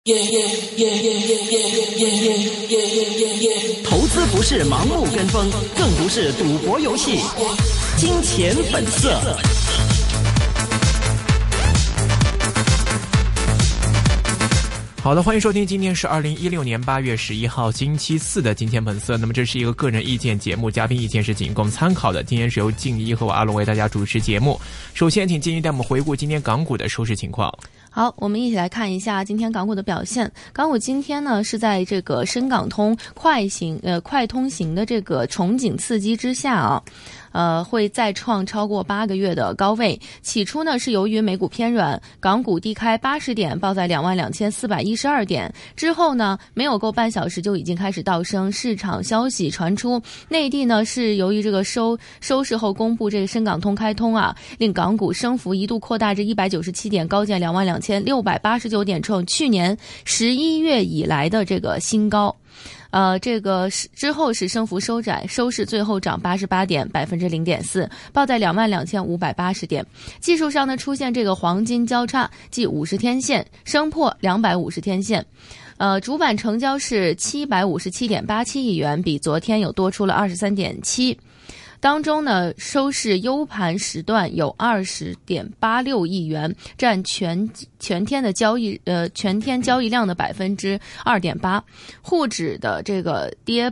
投资不是盲目跟风，更不是赌博游戏。金钱本色。 好的，欢迎收听，今天是2016年8月11号星期四的金钱本色。那么这是一个个人意见节目，嘉宾意见是仅供参考的。今天是由静一和我阿龙为大家主持节目。首先请静一带我们回顾今天港股的收市情况。 好，我们一起来看一下今天港股的表现。港股今天呢是在这个深港通快通行的这个憧憬刺激之下啊，会再创超过8个月的高位。起初呢是由于美股偏软，港股低开80点，报在22,412点。之后呢没有够半小时就已经开始倒升。市场消息传出，内地呢是由于这个收市后公布这个深港通开通啊，令港股升幅一度扩大至197点，高见22,689点，创去年11月以来的这个新高。这个之后是升幅收窄，收市最后涨88点，0.4%，报在22,580点。技术上呢出现这个黄金交叉，即50天线升破250天线。主板成交是757.87亿元，比昨天有多出了23.7。当中呢，收市优盘时段有20.86亿元，占全天的全天交易量的2.8%。沪指的这个跌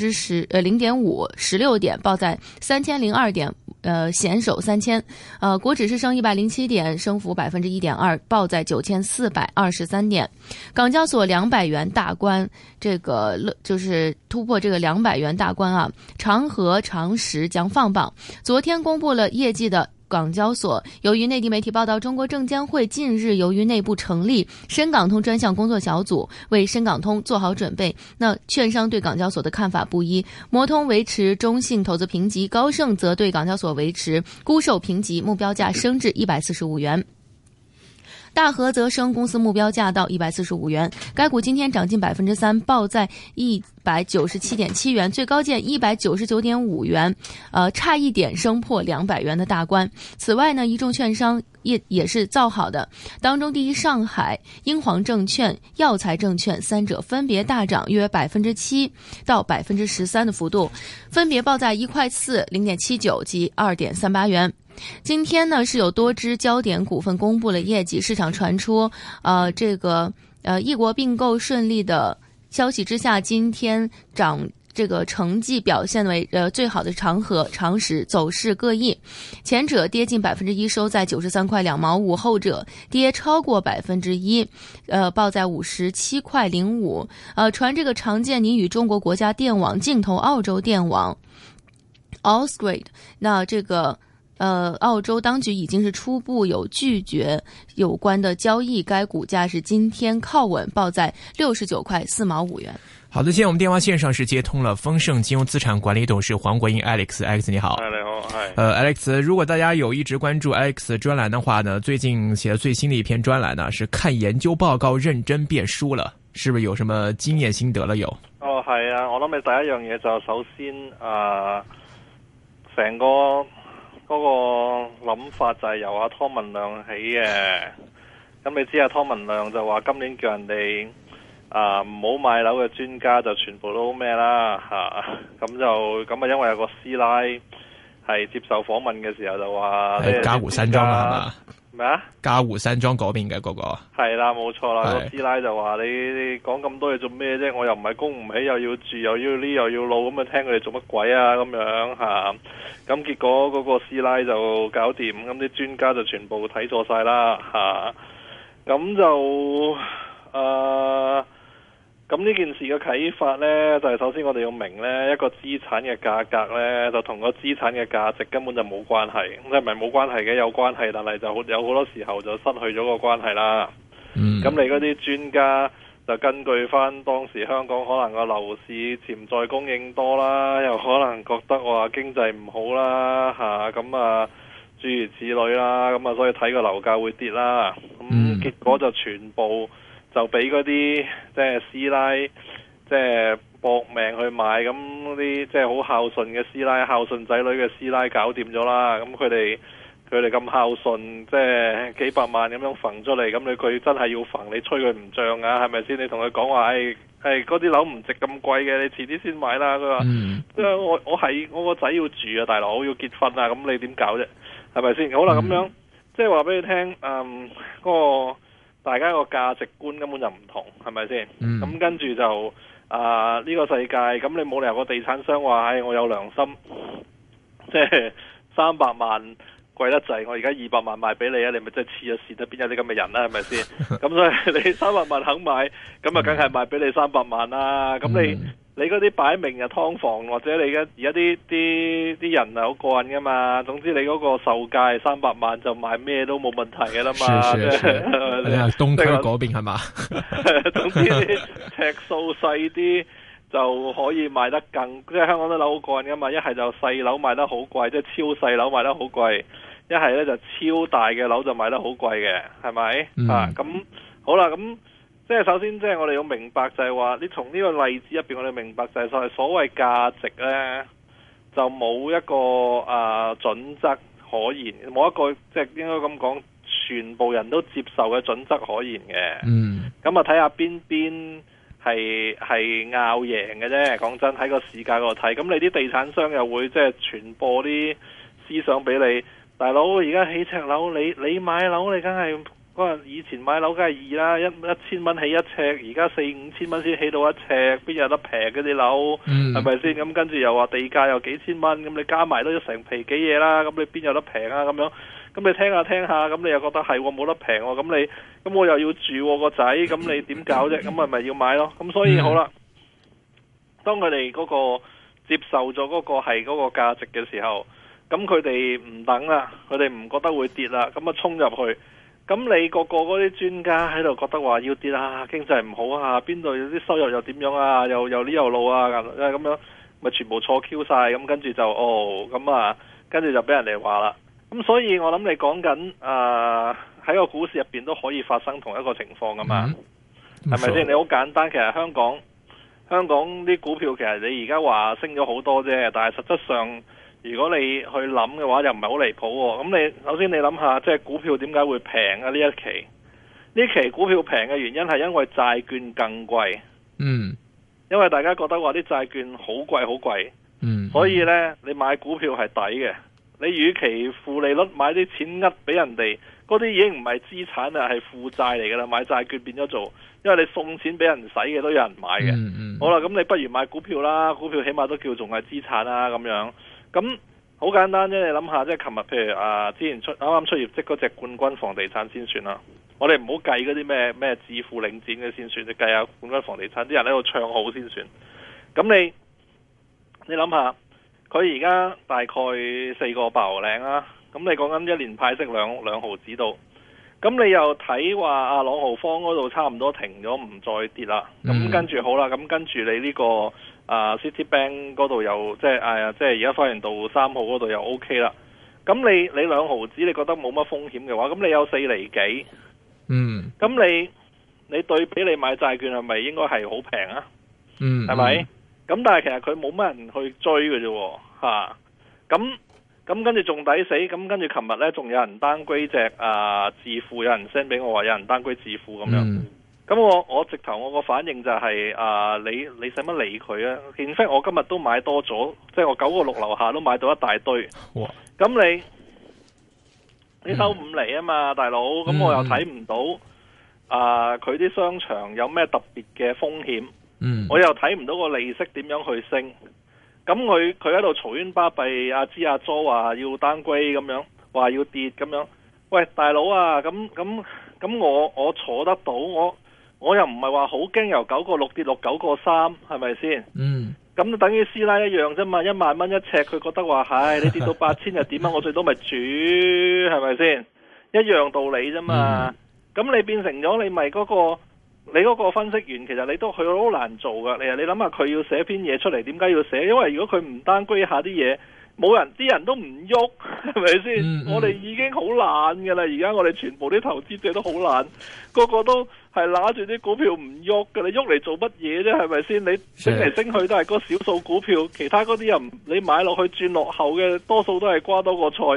0.5，16点，报在3002点，险守3000。国指是升107点，升幅1.2%，报在9423点。港交所200元大关，这个就是突破这个200元大关啊，长和、长实将放榜。昨天公布了业绩的港交所，由于内地媒体报道，中国证监会近日由于内部成立深港通专项工作小组，为深港通做好准备。那券商对港交所的看法不一，摩通维持中性投资评级，高盛则对港交所维持沽售评级，目标价升至145元。大和则升公司目标价到145元，该股今天涨近3%，报在197.7元，最高见199.5元，差一点升破200元的大关。此外呢，一众券商也是造好的，当中第一上海、英皇证券、耀才证券三者分别大涨约7%到13%的幅度，分别报在1.4块、0.79及2.38元。今天呢是有多只焦点股份公布了业绩，市场传出异国并购顺利的消息之下，今天这个成绩表现为最好的长和、长实走势各异，前者跌近1%，收在93块2毛5，后者跌超过1%，报在57块05。传这个常见你与中国国家电网竞投澳洲电网 Allsgrid， 那这个澳洲当局已经是初步有拒绝有关的交易，该股价是今天靠稳，报在69块4毛5元。 好的，现在我们电话线上是接通了丰盛金融资产管理董事黄国英 Alex 你好。 你好。 Alex， 如果大家有一直关注 Alex 专栏的话呢，最近写的最新的一篇专栏呢是看研究報告認真變輸了，是不是有什麼經驗心得了有？ 係啊，我諗你第一樣嘢就首先成個嗰個諗法就係由阿湯文亮起嘅。咁你知阿湯文亮就話今年叫人哋唔好買樓嘅專家就全部都咩啦嚇，咁因為有個師奶係接受訪問嘅時候就話嘉湖山莊係嘛？ 咩啊？ 嘉湖山莊嗰邊嘅嗰個係啦，冇錯啦。個師奶就話你講咁多嘢做咩啫？我又唔係供唔起，又要住，又要呢，又要路，咁啊聽佢哋做乜鬼啊咁樣嚇。咁結果嗰個師奶就搞掂，咁啲專家就全部睇錯晒啦嚇。咁就咁呢件事嘅啟發呢，就係首先我哋要明呢，一個資產嘅價格呢，就同個資產嘅價值根本就冇關係。即係唔係冇關係嘅，有關係，但係就有好多時候就失去咗個關係啦。咁你嗰啲專家就根據翻當時香港可能個樓市潛在供應多啦，又可能覺得話經濟唔好啦嚇，咁諸如此類啦，咁所以睇個樓價會跌啦。咁結果就全部就俾嗰啲即係師奶即係搏命去買，咁啲即係好孝順嘅師奶、孝順仔女嘅師奶搞掂咗啦。咁佢哋佢哋咁孝順，即係幾百萬咁樣揈出嚟，咁佢真係要揈，你吹佢唔漲啊？係咪先？你同佢講話，嗰啲樓唔值咁貴嘅，你遲啲先買啦。佢話，我個仔要住啊，大佬要結婚啊，咁你點搞啫？係咪先？好啦，咁樣即係話俾你聽，嗰個大家個價值觀根本就唔同，係咪先？咁跟住就呢個世界，咁你冇理由個地產商話，我有良心，即係300萬。貴得滯，我而家200萬賣俾你啊！你咪真係黐咗線啦，邊有啲咁嘅人啦，係咪先？咁所以你300萬肯買，咁啊梗係賣俾你300萬啦。咁你嗰啲擺明啊劏房，或者你而家啲人係好過癮噶嘛。總之你嗰個售價300萬就賣咩都冇問題噶啦嘛。 你係東區嗰邊係嘛？ 總之啲尺數細啲就可以賣得更，即係香港啲樓好過癮噶嘛。一係就細樓賣得好貴，即係超細樓賣得好貴。一係咧就超大嘅樓就賣得好貴嘅，係咪？咁好啦，咁即係首先即係我哋要明白就係話，你從呢個例子入邊我哋明白就係所謂價值咧，就冇一個準則可言，冇一個即係應該咁講，全部人都接受嘅準則可言嘅。咁啊睇下邊係拗贏嘅啫。講真，喺個市價嗰度睇，咁你啲地產商又會即係傳播啲思想俾你。大佬，而家起尺樓，你買樓你梗係嗰日以前買樓梗係易啦，1000蚊起一尺，而家4-5千蚊先起到一尺，邊有得平嗰啲樓？係咪先？咁跟住又話地價又幾千蚊，咁你加埋都成皮幾嘢啦，咁你邊有得平啊？咁樣，咁你聽下，咁你又覺得係冇得平喎？咁我又要住個仔，咁你點搞啫？咁咪要買咯？咁所以好啦，當佢哋嗰個接受咗嗰個係嗰個價值嘅時候。咁佢哋唔等啦，佢哋唔覺得會跌啦，咁啊衝入去。咁你個嗰啲專家喺度覺得話要跌啊，經濟唔好啊，邊度有啲收入又點樣啊，又呢又路啊，咁樣咪全部錯 Q 晒。咁跟住就跟住就俾人哋話啦。咁所以我諗你講緊喺個股市入邊都可以發生同一個情況噶嘛，係咪先？你好簡單，其實香港啲股票其實你而家話升咗好多啫，但係實質上。如果你去諗嘅話，又唔係好離譜喎。咁你首先你諗下，即係股票點解會平啊？呢一期呢期股票平嘅原因係因為債券更貴。因為大家覺得話啲債券好貴好貴。所以呢，你買股票係抵嘅。你與其負利率買啲錢呃俾人哋，嗰啲已經唔係資產啦，係負債嚟噶啦。買債券變咗做，因為你送錢俾人使嘅都有人買嘅。好啦，咁你不如買股票啦，股票起碼都叫仲係資產啦，咁樣。咁好簡單啫，你諗下，即係琴日譬如之前啱啱出業績嗰隻冠軍房地產先算啦。我哋唔好計嗰啲咩自負領展嘅先算，你計下冠軍房地產啲人喺度唱好先算。咁你諗下，佢而家大概4個8毫零啦。咁你講緊一年派息兩毫子到。咁你又睇話朗豪坊嗰度差唔多停咗，唔再跌啦。咁跟住好啦，咁跟住你呢個。Citibank 嗰度又即係而家花園道3號嗰度又 OK 啦。咁你2毫子，你覺得冇乜風險嘅話，咁你有4厘幾。咁你對比你買債券係咪應該係好平啊？係咪？咁但係其實佢冇乜人去追嘅啫。咁跟住仲抵死。咁跟住琴日呢，仲有人downgrade隻自負，有人 send 俾我話有人downgrade自負咁樣。咁我直頭我個反應就係你使乜理佢啊？in fact我今日都買多咗，即係我9個6樓下都買到一大堆。咁你收5厘啊嘛，大佬。咁我又睇唔到佢啲商場有咩特別嘅風險。我又睇唔到個利息點樣去升。咁佢喺度嘈冤巴閉，阿芝阿佐話要downgrade咁樣，話要跌咁樣。喂，大佬啊，咁我坐得到我又唔係話好驚由9個6跌落9個3，係咪先？咁就等於師奶一樣啫嘛，1萬蚊一尺，佢覺得話係你跌到8000又點啊？我最多咪煮，係咪先？一樣道理啫嘛。咁你變成咗你咪嗰個分析員，其實你都佢好難做噶。你諗下佢要寫篇嘢出嚟，點解要寫？因為如果佢唔downgrade下啲嘢，冇人啲人都唔喐，係咪先？我哋已經好懶噶啦，而家我哋全部啲投資者都好懶，個個都係拿住啲股票唔喐噶，你喐嚟做乜嘢啫？係咪先？你升嚟升去都係嗰少數股票，其他嗰啲人你買落去轉落後嘅，多數都係瓜多個菜，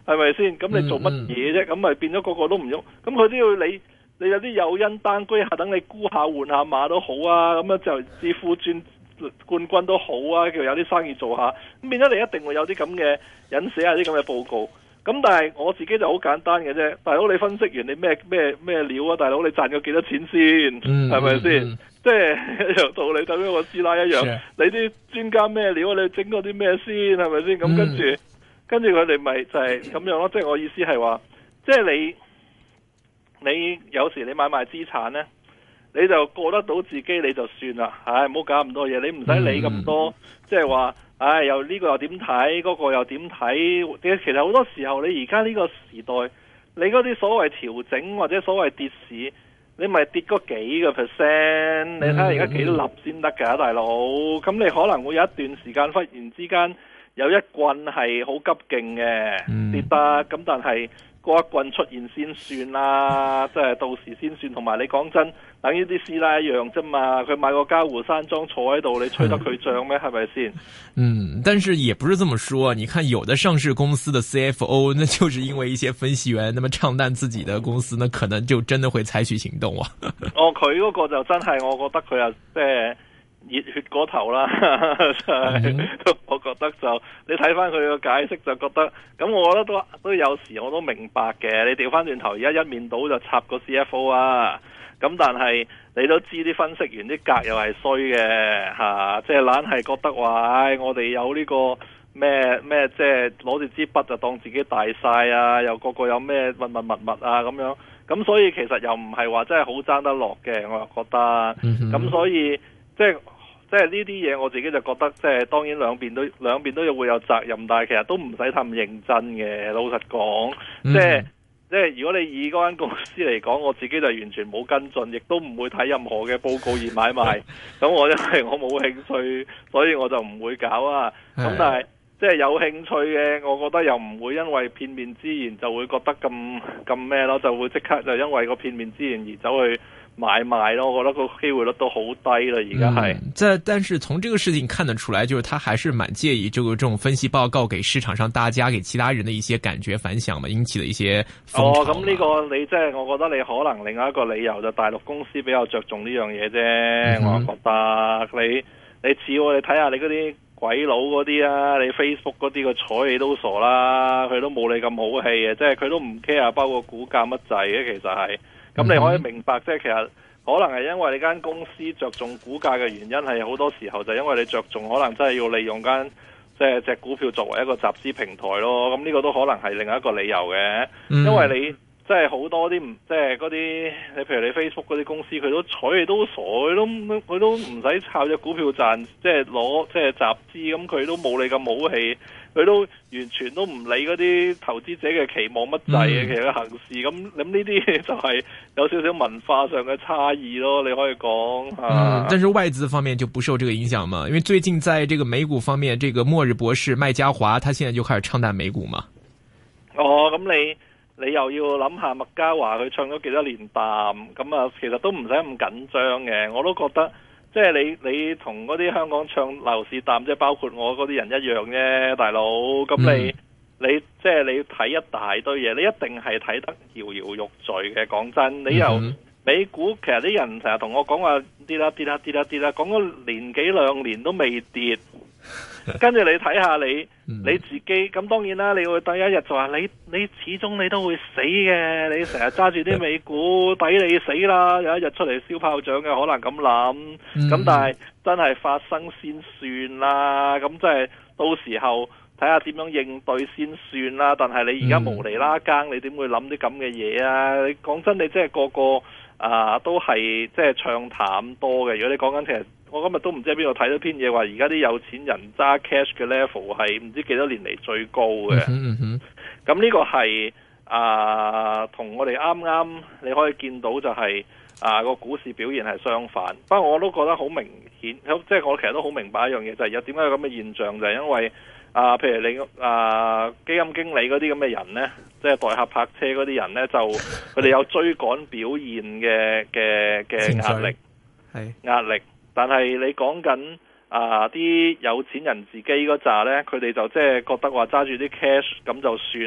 係咪先？咁你做乜嘢啫？咁咪變咗個個都唔喐，咁佢都要你有啲誘因單居下，等你沽下換下馬都好啊，咁樣就致富轉冠軍都好啊，叫有啲生意做下，咁變咗你一定會有啲咁嘅引寫下啲咁嘅報告。咁但係我自己就好簡單嘅啫，大佬你分析完你咩料啊？大佬你賺咗幾多錢先？係咪先？即係一樣道理，等於我師奶一樣，你啲專家咩料？你整嗰啲咩先？係咪先？咁跟住佢哋咪就係咁樣咯。即係我意思係話，即係你有時你買賣資產呢，你就過得到自己你就算啦。唉，唔好搞咁多嘢，你唔使理咁多。即係話，唉，又呢個又點睇，嗰個又點睇？其實好多時候你而家呢個時代，你嗰啲所謂調整或者所謂跌市，你咪跌嗰幾個 percent， 你睇下而家幾立先得㗎，大佬。咁你可能會有一段時間忽然之間有一棍係好急勁嘅跌得，咁但係嗰一棍出現先算啦，即係到時先算。同埋你講真，等於啲師奶一樣啫嘛，佢買個嘉湖山莊坐喺度，你吹得佢漲咩？係咪先？ 但是也不是這麼說。你看有的上市公司的 CFO， 那就是因為一些分析員那麼唱淡自己的公司，那可能就真的會採取行動啊。 佢嗰個就真係，我覺得佢又即係熱血過頭啦。我覺得就你睇翻佢個解釋就覺得，咁我覺得都有時我都明白嘅。你調翻轉頭而家一面倒就插個 CFO 啊，咁但係你都知啲分析員啲格又係衰嘅吓，即係懶係覺得話，我哋有呢個咩，即係攞住支筆就當自己大晒啊，又個有咩密啊咁樣，咁所以其實又唔係話真係好爭得落嘅，我又覺得，咁所以即係呢啲嘢我自己就覺得，即係當然兩邊都會有責任，但係其實都唔使咁認真嘅。老實講，即係如果你以嗰間公司嚟講，我自己就完全冇跟進，亦都唔會睇任何嘅報告而買賣。咁我因為我冇興趣，所以我就唔會搞啊。咁但係即係有興趣嘅，我覺得又唔會因為片面之言就會覺得咁咩咯，就會即刻就因為個片面之言而走去買賣咯。我覺得個機會率都好低啦，而家係。 但是從這個事情看得出來，就是他還是蠻介意這種分析報告給市場上大家、給其他人的一些感覺反響嘛，引起的一些風潮。 咁呢個你即係我覺得你可能另外一個理由就大陸公司比較着重呢樣嘢啫。我覺得你似我哋睇下你嗰啲鬼佬嗰啲啊，你 Facebook 嗰啲個睬你都傻啦，佢都冇你咁好氣嘅，即係佢都唔 care 包括股價乜滯嘅，其實係。咁你可以明白，即係其實可能係因為你間公司着重股價嘅原因，係好多時候就因為你着重可能真係要利用間即係隻股票作為一個集資平台咯。咁呢個都可能係另一個理由嘅，因為你即係好多啲即係嗰啲你譬如你 Facebook 嗰啲公司，佢都睬你都傻，佢都唔使靠隻股票賺，即係攞即係集資，咁佢都冇你咁好氣。佢都完全都唔理嗰啲投資者嘅期望乜滯嘅，其實行事咁呢啲就係有少少文化上嘅差異咯，你可以講。 但是外資方面就不受這個影響嘛？因為最近在這個美股方面，這個末日博士麥嘉華，他現在就開始唱淡美股嘛。 咁你又要諗下麥嘉華佢唱咗幾多年淡，咁啊其實都唔使咁緊張嘅，我都覺得。即係你同嗰啲香港唱樓市淡，即係包括我嗰啲人一樣啫，大佬。咁你即係你睇一大堆嘢，你一定係睇得搖搖欲墜嘅。講真，你由美股，其實啲人成日同我講話跌啦，講咗年幾兩年都未跌。跟住你睇下你自己，咁當然啦，你會第一日就話你始終你都會死嘅，你成日揸住啲美股抵你死啦，有一日出嚟燒炮仗嘅可能咁諗，咁但係真係發生先算啦，咁即係到時候睇下點樣應對先算啦。但係你而家無厘啦更，你點會諗啲咁嘅嘢啊？你講真，你即係個個都係即係唱淡多嘅。如果你講緊其實。我今日都唔知喺邊度睇到篇嘢話，而家啲有錢人揸 cash 嘅 level 係唔知幾多年嚟最高嘅。咁呢個係同我哋啱啱你可以見到就係個股市表現係相反。不過我都覺得好明顯，即係我其實都好明白一樣嘢，就係有點解有咁嘅現象，就係因為譬如你基金經理嗰啲咁嘅人呢，即係代客泊車嗰啲人呢，就佢哋有追趕表現嘅壓力。但係你講緊啲有錢人自己嗰扎呢，佢哋就即係覺得話揸住啲 cash 咁就算啦。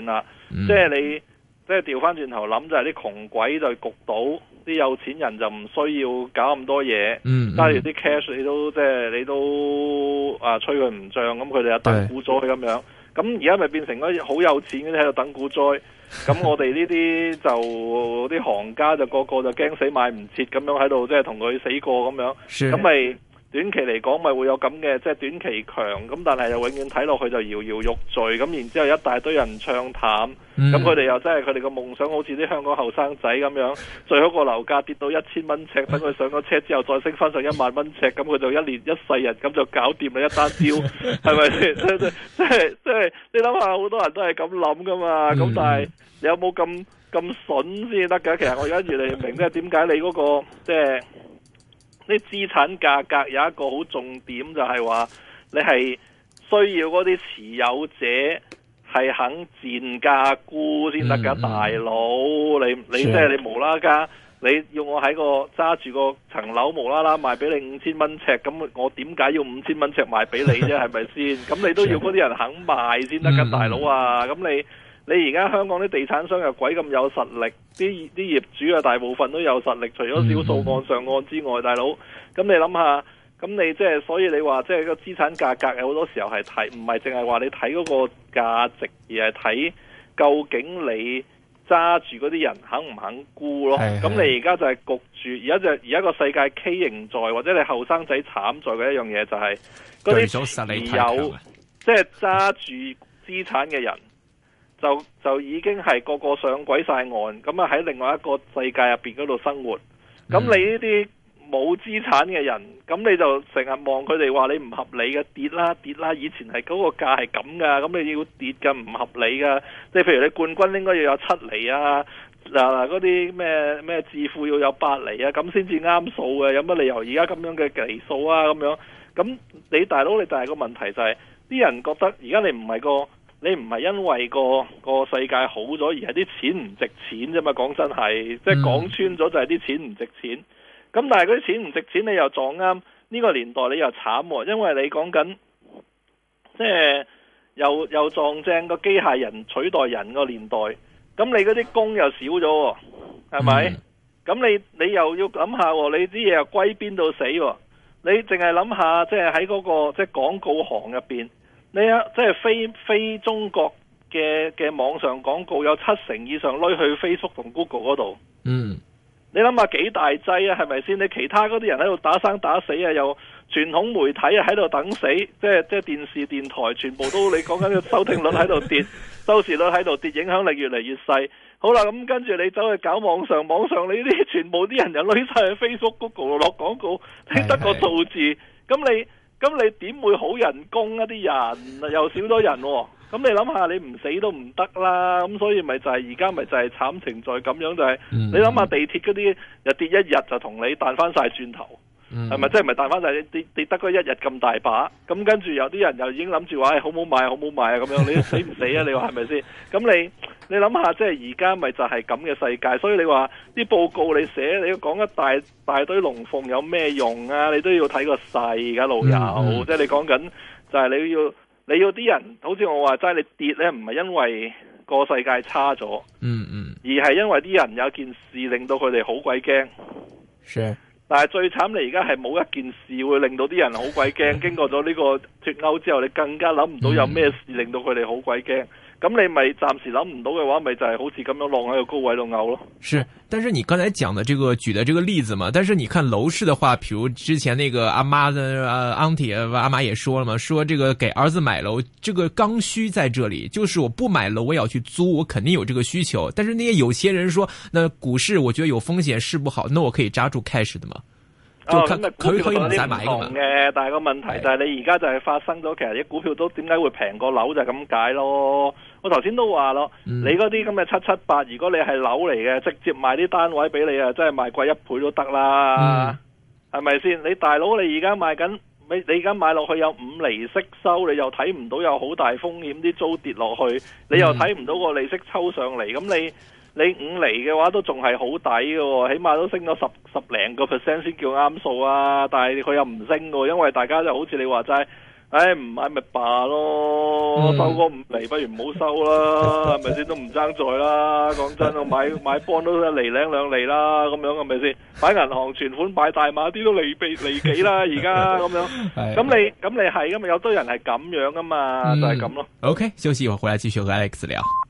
即係你即係調翻轉頭諗，就係啲窮鬼就焗到，啲有錢人就唔需要搞咁多嘢，揸住啲 cash 你都吹佢唔漲，咁佢哋就等股災咁樣。咁而家咪變成嗰啲好有錢嗰啲喺度等股災，咁我哋呢啲就啲行家就個個就驚死買唔切咁樣喺度，即係同佢死過咁樣，咁咪短期嚟講咪會有咁嘅，即係短期強，咁但係又永遠睇落去就搖搖欲墜，咁然之後一大堆人唱淡，咁佢哋又真係佢哋個夢想好似啲香港後生仔咁樣，最好個樓價跌到1000蚊尺，等佢上咗車之後再升翻上1萬蚊尺，咁佢就一年一世人咁就搞掂啦，一單招，係咪先？即係你諗下，好多人都係咁諗噶嘛，咁但係你有冇咁筍先得㗎？其實我而家越嚟越明，即係點解你嗰個即係啲資產價格有一個好重點，就係話你係需要嗰啲持有者係肯賤價沽先得噶，大佬，你即係你無啦啦，你要我喺個揸住個層樓無啦啦賣俾你5000蚊尺，咁我點解要5000蚊尺賣俾你啫？係咪先？咁你都要嗰啲人肯賣先得噶，大佬啊！咁你而家香港啲地產商又鬼咁有實力，啲業主啊大部分都有實力，除咗少數案上案之外，大佬，咁你諗下，咁你即係所以你話即係個資產價格有好多時候係睇，唔係淨係話你睇嗰個價值，而係睇究竟你揸住嗰啲人肯唔肯沽咯。咁你而家就係焗住，而家個世界畸形在，或者你後生仔慘在嘅一樣嘢就係嗰啲持有，即係揸住資產嘅人。就已經係個個上鬼晒岸，咁啊喺另外一個世界入邊嗰度生活。咁你呢啲冇資產嘅人，咁你就成日望佢哋話你唔合理嘅，跌啦，以前係嗰個價係咁噶，咁你要跌噶，唔合理噶。即係譬如你冠軍應該要有7厘啊，嗰啲咩致富要有8厘啊，咁先至啱數嘅。有乜理由而家咁樣嘅厘數啊？咁樣，咁你大佬，你就係個問題就係啲人覺得而家你唔係因為個世界好咗，而係啲錢唔值錢啫嘛。講真係，即係講穿咗就係啲錢唔值錢。咁但係嗰啲錢唔值錢，你又撞啱呢個年代，你又慘喎，因為你講緊即係又撞正個機械人取代人個年代。咁你嗰啲工又少咗，係咪？咁你又要諗下，你啲嘢又歸邊到死？你淨係諗下，即係喺嗰個即係廣告行入邊。你即係非中國嘅網上廣告有70%以上攞去 Facebook 同 Google 嗰度。你諗下幾大劑啊？係咪先？你其他嗰啲人喺度打生打死啊，又傳統媒體啊喺度等死，即係電視電台全部都你講緊個收聽率喺度跌，收視率喺度跌，影響力越嚟越細。好啦，咁跟住你走去搞網上你呢啲全部啲人又攞晒去 Facebook、Google 落廣告，聽得個數字，咁你點會好人工啊？啲人又少咗人，咁你諗下，你唔死都唔得啦。咁所以咪就係而家咪就係慘情在咁樣，就係你諗下地鐵嗰啲又跌一日就同你彈翻晒轉頭，係咪？即係唔係彈翻晒跌得嗰一日咁大把？咁跟住有啲人又已經諗住話好唔好買啊咁樣，你死唔死啊？你話係咪先？咁你諗下，即係而家咪就係咁嘅世界，所以你話啲報告你寫，你要講一大堆龍鳳有咩用啊？你都要睇個勢噶，老友，即係你講緊就係你要啲人，好似我話齋，你跌咧唔係因為個世界差咗，而係因為啲人有件事令到佢哋好鬼驚。但係最慘，你而家係冇一件事會令到啲人好鬼驚。經過咗呢個脫歐之後，你更加諗唔到有咩事令到佢哋好鬼驚。咁你咪暫時諗唔到嘅話，咪就係好似咁樣晾喺個高位度嘔咯。 是，但是你剛才講的這個舉的這個例子嘛，但是你看樓市的話，比如之前那個阿媽的auntie阿媽也說了嘛，說這個給兒子買樓，這個剛需在這裡，就是我不買樓我也要去租，我肯定有這個需求。但是那些有些人說，那股市我覺得有風險，市不好，那我可以揸住 cash 的嘛。 咁股票有啲唔同嘅，但係個問題就係你而家就係發生咗，其實啲股票都點解會平過樓就係咁解咯。我頭先都話咯，你嗰啲咁嘅778，如果你係樓嚟嘅，直接賣啲單位俾你啊，真係賣貴1倍都得啦，係咪先？你大佬你而家賣緊，你而家買落去有5厘息收，你又睇唔到有好大風險啲租跌落去，你又睇唔到個利息抽上嚟，咁你5厘嘅話都仲係好抵嘅，起碼都升咗10%先叫啱數啊！但係佢又唔升嘅，因為大家就好似你話齋， 唔買咪罷咯，收個5厘不如唔好收啦，係咪先？都唔爭在啦，講真，我買幫都1厘零2厘啦，咁樣係咪先？擺銀行存款擺大碼啲都離幾啦，而家咁樣，咁你係噶嘛？有堆人係咁樣噶嘛，就係咁咯。 OK，休息一會兒回來繼續和 Alex 聊。